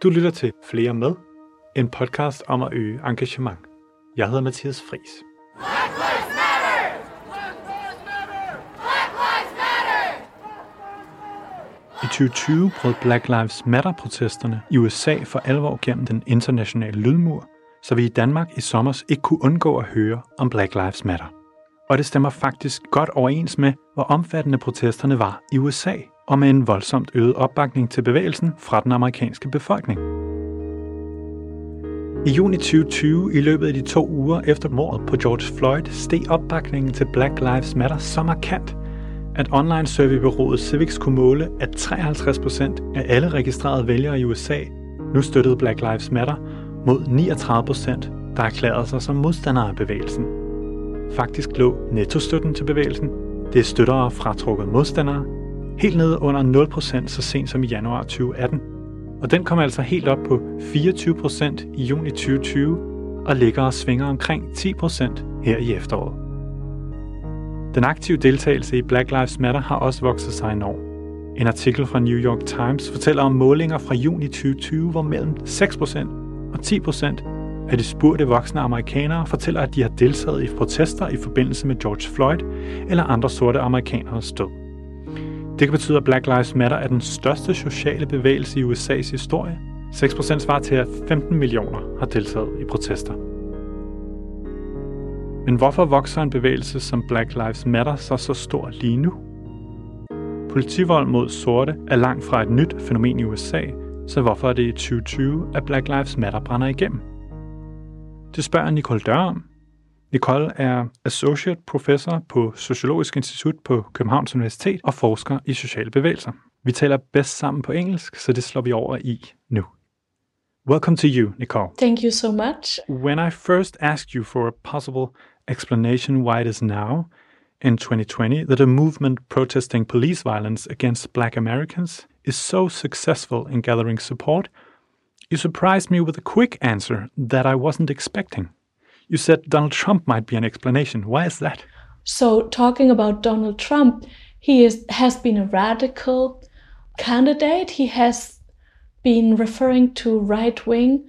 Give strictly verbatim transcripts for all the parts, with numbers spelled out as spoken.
Du lytter til Flere Med, en podcast om at øge engagement. Jeg hedder Mathias Friis. Black Lives Matter! Black Lives Matter! Black Lives Matter! I tyve tyve brød Black Lives Matter-protesterne i U S A for alvor gennem den internationale lydmur, så vi i Danmark i sommer ikke kunne undgå at høre om Black Lives Matter. Og det stemmer faktisk godt overens med, hvor omfattende protesterne var i U S A, og med en voldsomt øget opbakning til bevægelsen fra den amerikanske befolkning. I juni tyve tyve, i løbet af de to uger efter mordet på George Floyd, steg opbakningen til Black Lives Matter så markant, at online surveybureauet Civiqs kunne måle, at treoghalvtreds procent af alle registrerede vælgere i U S A nu støttede Black Lives Matter, mod niogtredive procent, der erklærede sig som modstandere af bevægelsen. Faktisk lå nettostøtten til bevægelsen, det er støttere fratrukket modstandere, helt nede under nul procent så sent som i januar tyve atten. Og den kom altså helt op på fireogtyve procent i juni tyve tyve og ligger og svinger omkring ti procent her i efteråret. Den aktive deltagelse i Black Lives Matter har også vokset sig enormt. En artikel fra New York Times fortæller om målinger fra juni tyve tyve, hvor mellem seks procent og ti procent af de spurgte voksne amerikanere fortæller, at de har deltaget i protester i forbindelse med George Floyd eller andre sorte amerikaneres død. Det kan betyde, at Black Lives Matter er den største sociale bevægelse i U S A's historie. seks procent svarer til, at femten millioner har deltaget i protester. Men hvorfor vokser en bevægelse som Black Lives Matter så så stor lige nu? Politivold mod sorte er langt fra et nyt fænomen i U S A, så hvorfor er det i tyve tyve, at Black Lives Matter brænder igennem? Det spørger Nicole Dør om. Nicole er associate professor på Sociologisk Institut på Københavns Universitet og forsker i sociale bevægelser. Vi taler bedst sammen på engelsk, så det slår vi over i nu. Welcome to you, Nicole. Thank you so much. When I first asked you for a possible explanation why it is now, in twenty twenty, that a movement protesting police violence against Black Americans is so successful in gathering support, you surprised me with a quick answer that I wasn't expecting. You said Donald Trump might be an explanation. Why is that? So talking about Donald Trump, he is, has been a radical candidate. He has been referring to right-wing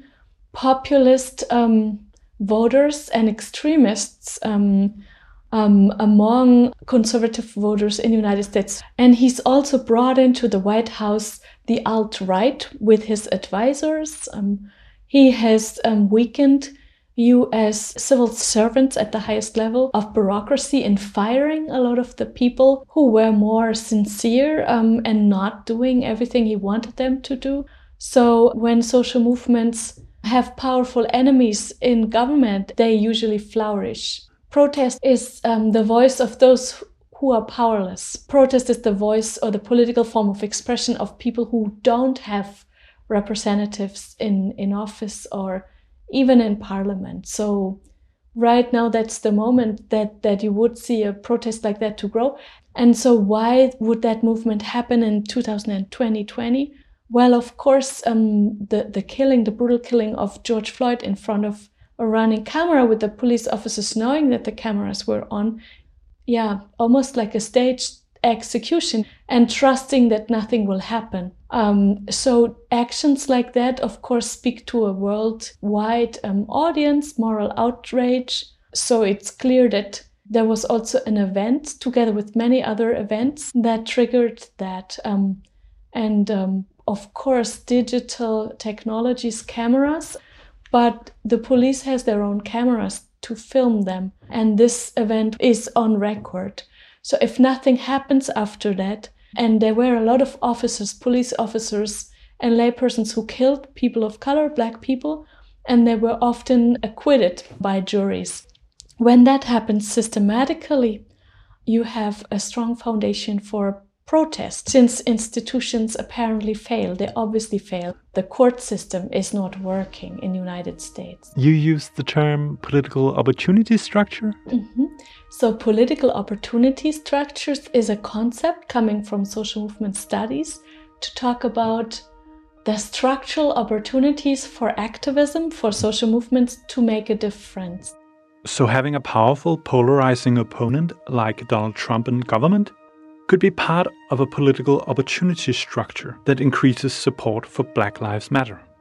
populist um, voters and extremists um, um, among conservative voters in the United States. And he's also brought into the White House the alt-right with his advisors. Um, he has um, weakened U S civil servants at the highest level of bureaucracy in firing a lot of the people who were more sincere um, and not doing everything he wanted them to do. So when social movements have powerful enemies in government, they usually flourish. Protest is um, the voice of those who are powerless. Protest is the voice or the political form of expression of people who don't have representatives in, in office or even in parliament. So right now that's the moment that, that you would see a protest like that to grow. And so why would that movement happen in two thousand twenty? Well, of course, um, the, the killing, the brutal killing of George Floyd in front of a running camera with the police officers knowing that the cameras were on, yeah, almost like a staged execution and trusting that nothing will happen. Um, so actions like that, of course, speak to a worldwide um, audience, moral outrage. So it's clear that there was also an event together with many other events that triggered that. Um, and um, of course, digital technologies, cameras, but the police has their own cameras to film them. And this event is on record. So if nothing happens after that, and there were a lot of officers, police officers and laypersons who killed people of color, Black people, and they were often acquitted by juries. When that happens systematically, you have a strong foundation for protest. Since institutions apparently fail, they obviously fail. The court system is not working in the United States. You use the term political opportunity structure? Mm-hmm. So political opportunity structures is a concept coming from social movement studies to talk about the structural opportunities for activism, for social movements to make a difference. So having a powerful, polarizing opponent like Donald Trump in government could be part of a political opportunity structure that increases support for Black Lives Matter.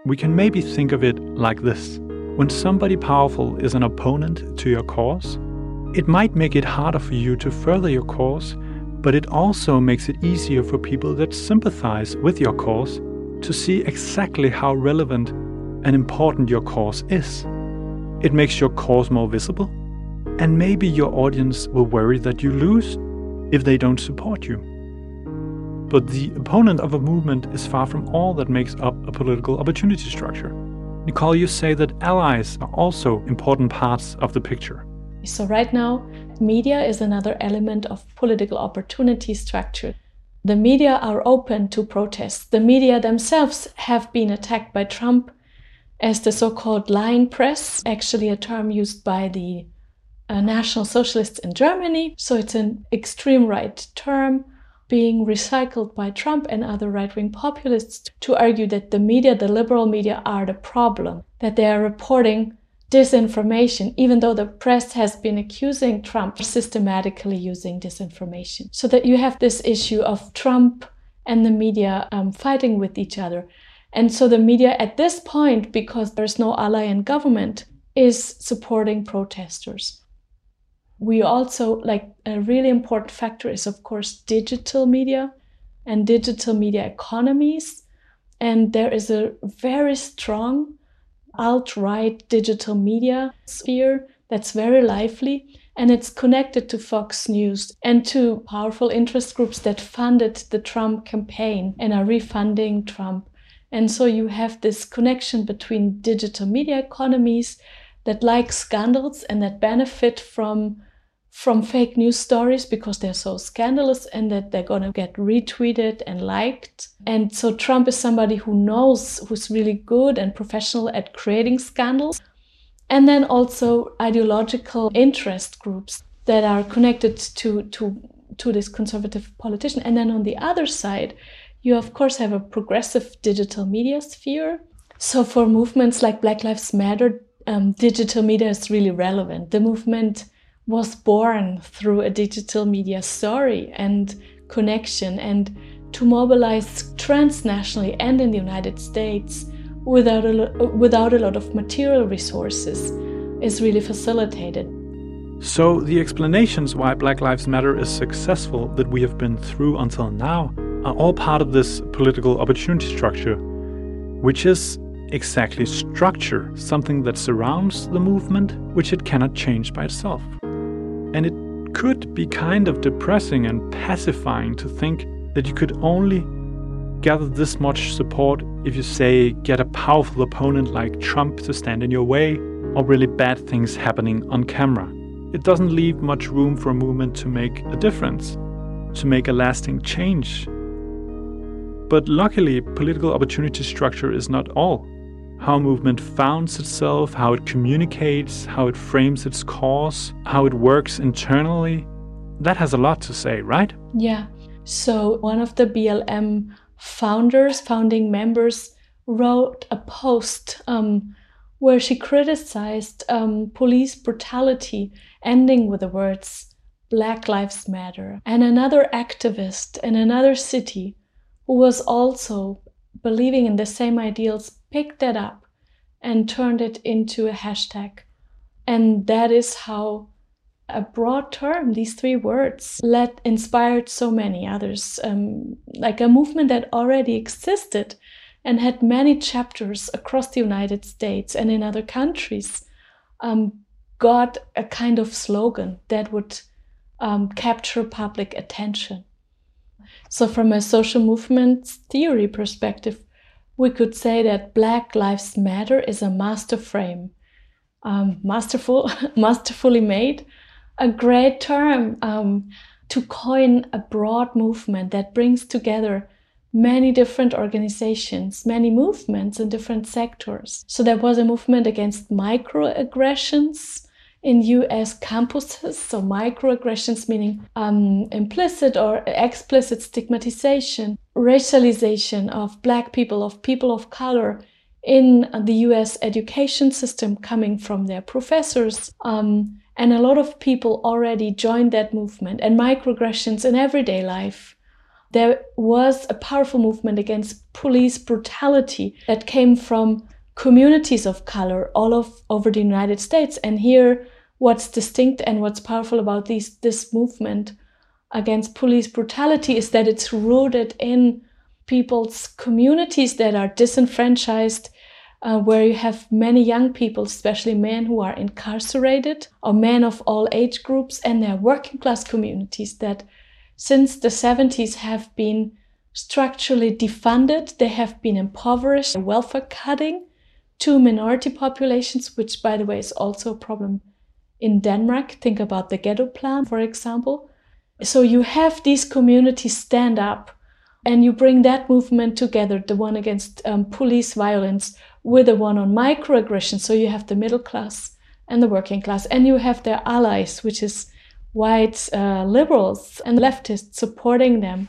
We can maybe think of it like this. When somebody powerful is an opponent to your cause, it might make it harder for you to further your cause, but it also makes it easier for people that sympathize with your cause to see exactly how relevant and important your cause is. It makes your cause more visible, and maybe your audience will worry that you lose if they don't support you. But the opponent of a movement is far from all that makes up a political opportunity structure. Nicole, you say that allies are also important parts of the picture. So right now, media is another element of political opportunity structure. The media are open to protests. The media themselves have been attacked by Trump as the so-called lying press, actually a term used by the uh, National Socialists in Germany. So it's an extreme right term being recycled by Trump and other right-wing populists to argue that the media, the liberal media, are the problem, that they are reporting disinformation, even though the press has been accusing Trump of systematically using disinformation. So that you have this issue of Trump and the media um, fighting with each other. And so the media at this point, because there's no ally in government, is supporting protesters. We also, like a really important factor is, of course, digital media and digital media economies. And there is a very strong alt-right digital media sphere that's very lively, and it's connected to Fox News and to powerful interest groups that funded the Trump campaign and are refunding Trump. And so you have this connection between digital media economies that like scandals and that benefit from from fake news stories because they're so scandalous and that they're going to get retweeted and liked. And so Trump is somebody who knows, who's really good and professional at creating scandals. And then also ideological interest groups that are connected to, to, to this conservative politician. And then on the other side, you of course have a progressive digital media sphere. So for movements like Black Lives Matter, um, digital media is really relevant. The movement was born through a digital media story and connection, and to mobilize transnationally and in the United States without a, lo- without a lot of material resources is really facilitated. So the explanations why Black Lives Matter is successful that we have been through until now are all part of this political opportunity structure, which is exactly structure, something that surrounds the movement, which it cannot change by itself. And it could be kind of depressing and pacifying to think that you could only gather this much support if you, say, get a powerful opponent like Trump to stand in your way, or really bad things happening on camera. It doesn't leave much room for a movement to make a difference, to make a lasting change. But luckily, political opportunity structure is not all. How a movement founds itself, how it communicates, how it frames its cause, how it works internally, that has a lot to say, right? Yeah. So one of the B L M founders, founding members, wrote a post um, where she criticized um, police brutality, ending with the words, Black Lives Matter. And another activist in another city who was also believing in the same ideals picked that up and turned it into a hashtag. And that is how a broad term, these three words, led, inspired so many others. Um, like a movement that already existed and had many chapters across the United States and in other countries, um, got a kind of slogan that would um, capture public attention. So from a social movement theory perspective, we could say that Black Lives Matter is a master frame, um, masterful, masterfully made, a great term um, to coin a broad movement that brings together many different organizations, many movements in different sectors. So there was a movement against microaggressions in U S campuses. So microaggressions meaning um, implicit or explicit stigmatization, racialization of Black people, of people of color in the U S education system coming from their professors. Um, and a lot of people already joined that movement, and microaggressions in everyday life. There was a powerful movement against police brutality that came from communities of color all of, over the United States. And here, what's distinct and what's powerful about these, this movement against police brutality is that it's rooted in people's communities that are disenfranchised, uh, where you have many young people, especially men who are incarcerated, or men of all age groups, and they're working class communities that since the seventies have been structurally defunded. They have been impoverished, welfare cutting to minority populations, which, by the way, is also a problem in Denmark. Think about the ghetto plan, for example. So you have these communities stand up and you bring that movement together, the one against um, police violence with the one on microaggression. So you have the middle class and the working class, and you have their allies, which is white uh, liberals and leftists supporting them.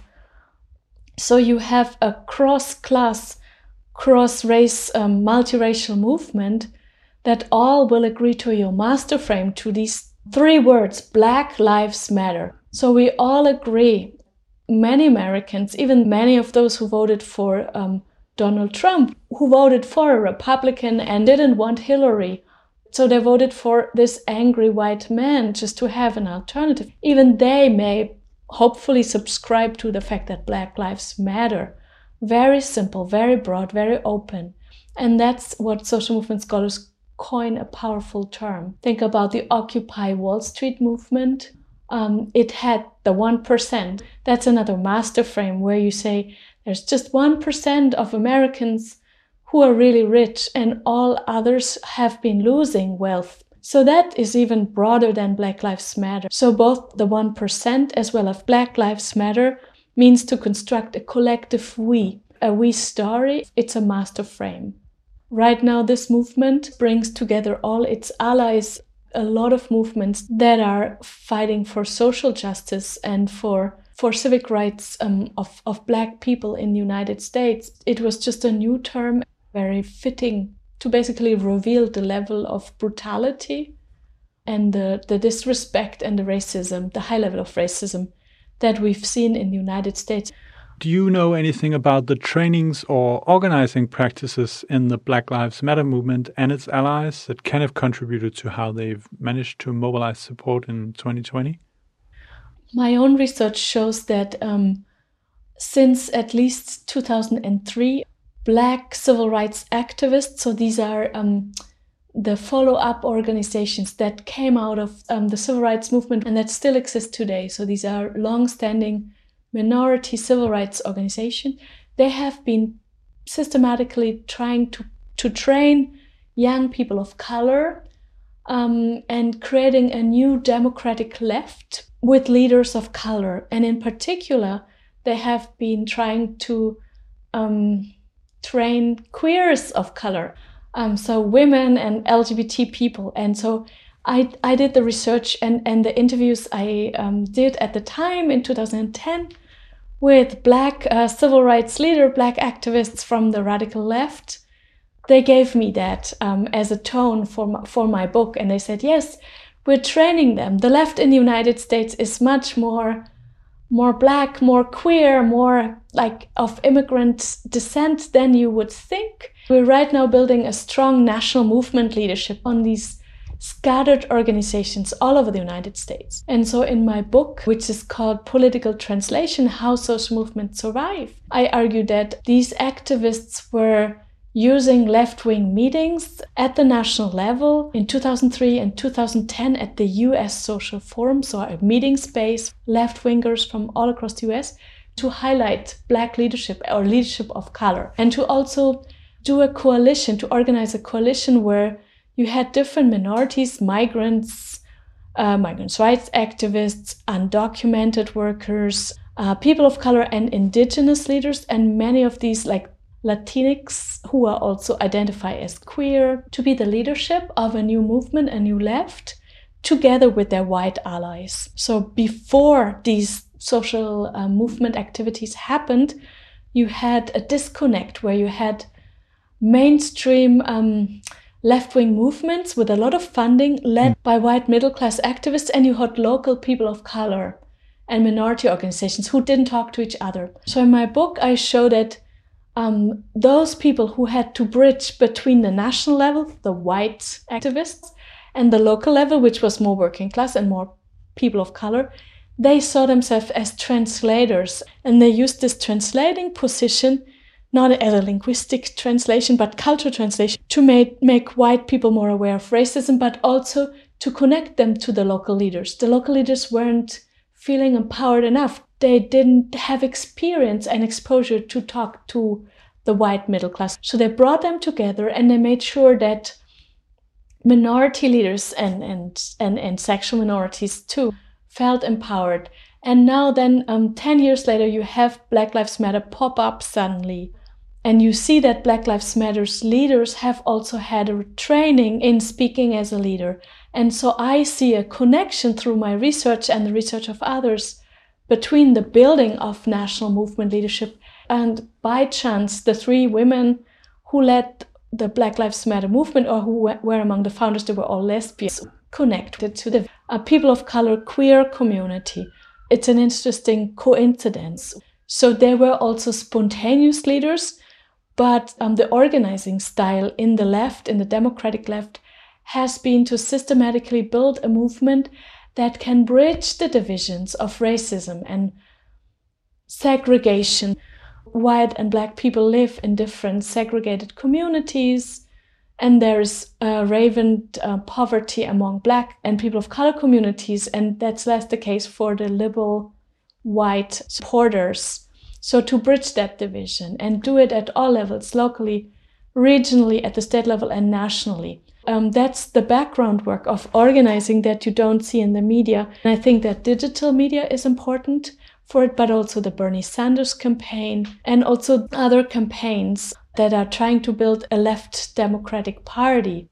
So you have a cross-class, cross-race, um, multiracial movement that all will agree to your master frame, to these three words, Black Lives Matter. So we all agree, many Americans, even many of those who voted for um, Donald Trump, who voted for a Republican and didn't want Hillary, so they voted for this angry white man just to have an alternative. Even they may hopefully subscribe to the fact that Black Lives Matter. Very simple, very broad, very open. And that's what social movement scholars coin a powerful term. Think about the Occupy Wall Street movement. Um, it had the one percent. That's another master frame where you say there's just one percent of Americans who are really rich and all others have been losing wealth. So that is even broader than Black Lives Matter. So both the one percent as well as Black Lives Matter means to construct a collective we, a we story. It's a master frame. Right now, this movement brings together all its allies, a lot of movements that are fighting for social justice and for, for civic rights um, of, of Black people in the United States. It was just a new term, very fitting to basically reveal the level of brutality and the, the disrespect and the racism, the high level of racism that we've seen in the United States. Do you know anything about the trainings or organizing practices in the Black Lives Matter movement and its allies that can have contributed to how they've managed to mobilize support in twenty twenty? My own research shows that um, since at least two thousand three, Black civil rights activists, so these are um, the follow-up organizations that came out of um, the civil rights movement and that still exist today. So these are long-standing minority civil rights organizations. They have been systematically trying to, to train young people of color um, and creating a new democratic left with leaders of color. And in particular, they have been trying to um, train queers of color, um, so women and L G B T people. And so I, I did the research and, and the interviews I um, did at the time in two thousand ten with Black uh, civil rights leader, Black activists from the radical left. They gave me that um, as a tone for my, for my book. And they said, yes, we're training them. The left in the United States is much more more Black, more queer, more like of immigrant descent than you would think. We're right now building a strong national movement leadership on these scattered organizations all over the United States. And so in my book, which is called Political Translation, How Social Movements Survive, I argue that these activists were using left-wing meetings at the national level in two thousand three and two thousand ten at the U S Social Forum, so a meeting space, left-wingers from all across the U S, to highlight Black leadership or leadership of color, and to also do a coalition, to organize a coalition where you had different minorities, migrants, uh, migrants' rights activists, undocumented workers, uh, people of color and indigenous leaders, and many of these like Latinx who are also identify as queer, to be the leadership of a new movement, a new left, together with their white allies. So before these social uh, movement activities happened, you had a disconnect where you had mainstream um, left-wing movements with a lot of funding led by white middle-class activists, and you had local people of color and minority organizations who didn't talk to each other. So in my book, I show that um, those people who had to bridge between the national level, the white activists, and the local level, which was more working class and more people of color, they saw themselves as translators, and they used this translating position not as a linguistic translation, but cultural translation, to make, make white people more aware of racism, but also to connect them to the local leaders. The local leaders weren't feeling empowered enough. They didn't have experience and exposure to talk to the white middle class. So they brought them together, and they made sure that minority leaders and, and, and, and sexual minorities too felt empowered. And now then, um, ten years later, you have Black Lives Matter pop up suddenly. And you see that Black Lives Matter's leaders have also had a training in speaking as a leader. And so I see a connection through my research and the research of others between the building of national movement leadership and, by chance, the three women who led the Black Lives Matter movement, or who were among the founders, they were all lesbians, connected to the uh, people of color queer community. It's an interesting coincidence. So they were also spontaneous leaders, but um, the organizing style in the left, in the democratic left, has been to systematically build a movement that can bridge the divisions of racism and segregation. White and black people live in different segregated communities, and there is uh, rampant uh, poverty among black and people of color communities, and that's less the case for the liberal white supporters. So to bridge that division and do it at all levels, locally, regionally, at the state level, and nationally. Um, that's the background work of organizing that you don't see in the media. And I think that digital media is important for it, but also the Bernie Sanders campaign and also other campaigns that are trying to build a left democratic party.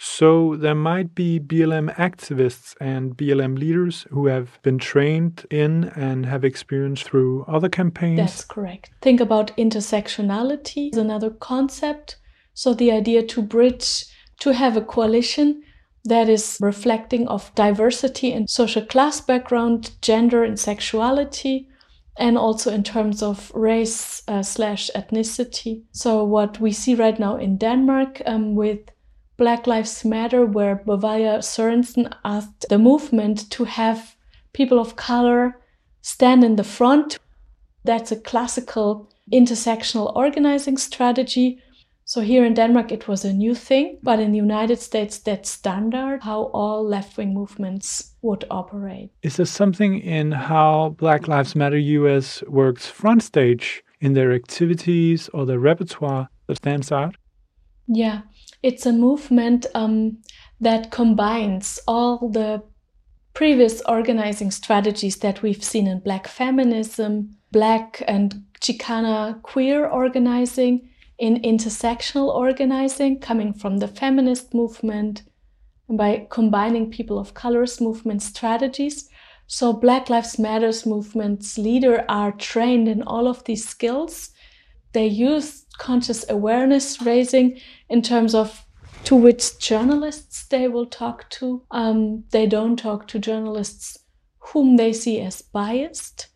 So there might be B L M activists and B L M leaders who have been trained in and have experience through other campaigns? That's correct. Think about intersectionality is another concept. So the idea to bridge, to have a coalition that is reflecting of diversity in social class background, gender and sexuality, and also in terms of race uh, slash ethnicity. So what we see right now in Denmark um, with Black Lives Matter, where Bavaria Sørensen asked the movement to have people of color stand in the front. That's a classical intersectional organizing strategy. So here in Denmark, it was a new thing, but in the United States, that's standard, how all left-wing movements would operate. Is there something in how Black Lives Matter U S works front stage in their activities or their repertoire that stands out? Yeah. It's a movement um, that combines all the previous organizing strategies that we've seen in Black feminism, Black and Chicana queer organizing, in intersectional organizing coming from the feminist movement, and by combining people of color's movement strategies. So Black Lives Matter's movement's leaders are trained in all of these skills. They use conscious awareness raising in terms of to which journalists they will talk to. Um, they don't talk to journalists whom they see as biased.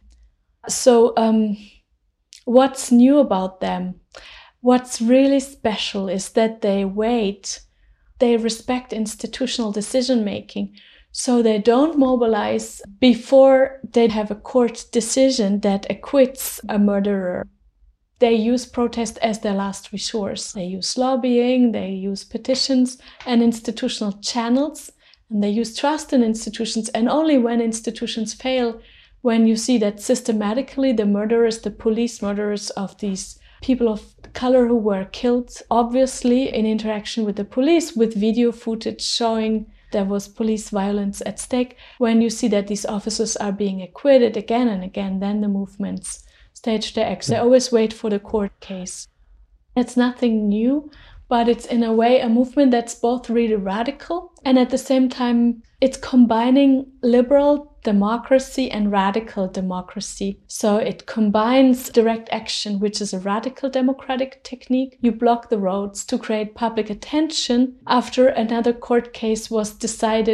So um, what's new about them? What's really special is that they wait. They respect institutional decision-making. So they don't mobilize before they have a court decision that acquits a murderer. They use protest as their last resource. They use lobbying, they use petitions and institutional channels, and they use trust in institutions. And only when institutions fail, when you see that systematically the murderers, the police murderers of these people of color who were killed, obviously in interaction with the police, with video footage showing there was police violence at stake, when you see that these officers are being acquitted again and again, then the movements stage their acts. They always wait for the court case. It's nothing new, but it's in a way a movement that's both really radical and at the same time it's combining liberal democracy and radical democracy. So it combines direct action, which is a radical democratic technique. You block the roads to create public attention after another court case was decided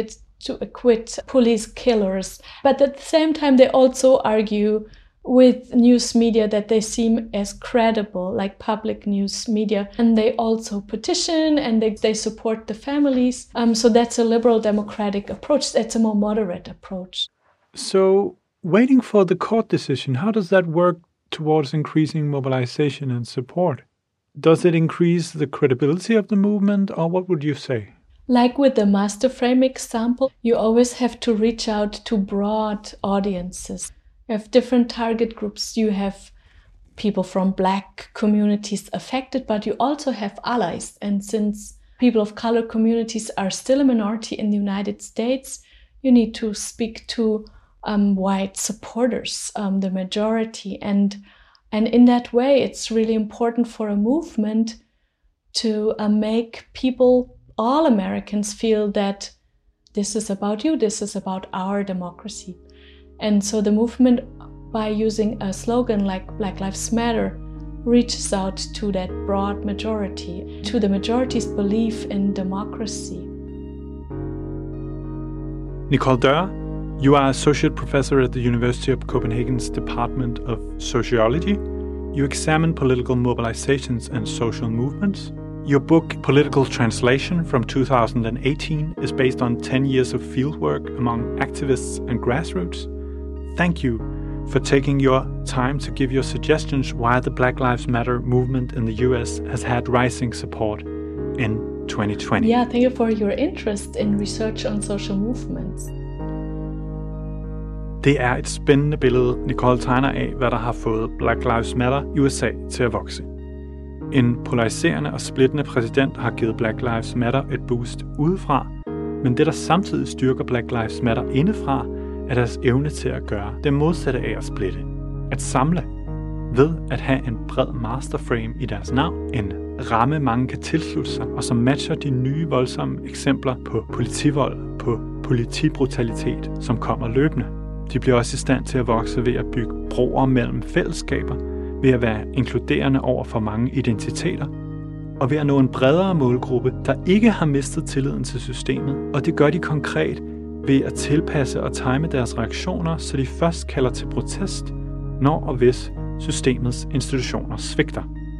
to acquit police killers. But at the same time, they also argue with news media that they seem as credible, like public news media. And they also petition and they, they support the families. Um, so that's a liberal democratic approach. That's a more moderate approach. So waiting for the court decision, how does that work towards increasing mobilization and support? Does it increase the credibility of the movement, or what would you say? Like with the master frame example, you always have to reach out to broad audiences. You have different target groups. You have people from Black communities affected, but you also have allies. And since people of color communities are still a minority in the United States, you need to speak to um, white supporters, um, the majority. And, and in that way, it's really important for a movement to uh, make people, all Americans, feel that this is about you, this is about our democracy. And so the movement, by using a slogan like Black Lives Matter, reaches out to that broad majority, to the majority's belief in democracy. Nicole Dörr, you are associate professor at the University of Copenhagen's Department of Sociology. You examine political mobilizations and social movements. Your book, Political Translation, from two thousand eighteen, is based on ten years of fieldwork among activists and grassroots. Thank you for taking your time to give your suggestions why the Black Lives Matter movement in the U S has had rising support in twenty twenty. Yeah, thank you for your interest in research on social movements. Det er et spændende billede, Nicole tegner af, hvad der har fået Black Lives Matter i U S A til at vokse. En polariserende og splittende præsident har givet Black Lives Matter et boost udefra, men det, der samtidig styrker Black Lives Matter indefra, er deres evne til at gøre det modsatte af at splitte. At samle ved at have en bred masterframe i deres navn, en ramme mange kan tilslutte sig, og som matcher de nye voldsomme eksempler på politivold, på politibrutalitet, som kommer løbende. De bliver også i stand til at vokse ved at bygge broer mellem fællesskaber, ved at være inkluderende over for mange identiteter, og ved at nå en bredere målgruppe, der ikke har mistet tilliden til systemet, og det gør de konkret ved at tilpasse og time deres reaktioner, så de først kalder til protest, når og hvis systemets institutioner svigter.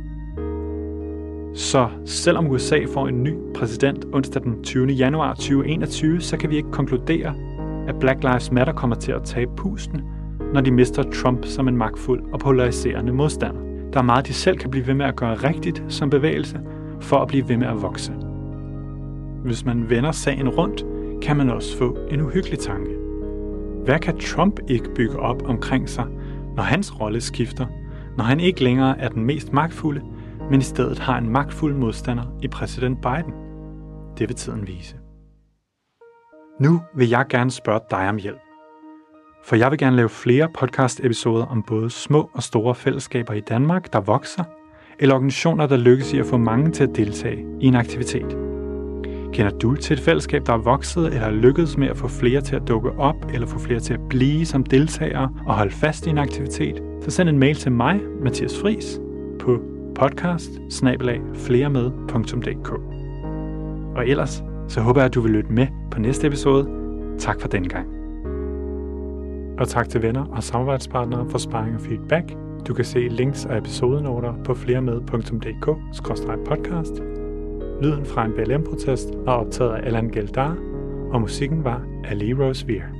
Så selvom U S A får en ny præsident onsdag den tyvende januar to tusind og enogtyve, så kan vi ikke konkludere, at Black Lives Matter kommer til at tabe pusten, når de mister Trump som en magtfuld og polariserende modstander. Der er meget, de selv kan blive ved med at gøre rigtigt som bevægelse, for at blive ved med at vokse. Hvis man vender sagen rundt, kan man også få en uhyggelig tanke. Hvad kan Trump ikke bygge op omkring sig, når hans rolle skifter, når han ikke længere er den mest magtfulde, men i stedet har en magtfuld modstander i præsident Biden? Det vil tiden vise. Nu vil jeg gerne spørge dig om hjælp. For jeg vil gerne lave flere podcast-episoder om både små og store fællesskaber i Danmark, der vokser, eller organisationer, der lykkes i at få mange til at deltage i en aktivitet. Kender du til et fællesskab, der er vokset eller lykkedes med at få flere til at dukke op, eller få flere til at blive som deltagere og holde fast i en aktivitet, så send en mail til mig, Mathias Friis, på podcast bindestreg fleremed punktum d k. Og ellers, så håber jeg, at du vil lytte med på næste episode. Tak for denne gang. Og tak til venner og samarbejdspartnere for sparring og feedback. Du kan se links og episodenoter på fleremed punktum d k skråstreg podcast. Lyden fra en B L M-protest er optaget af Allan Geldar, og musikken var af Lee Rose Veer.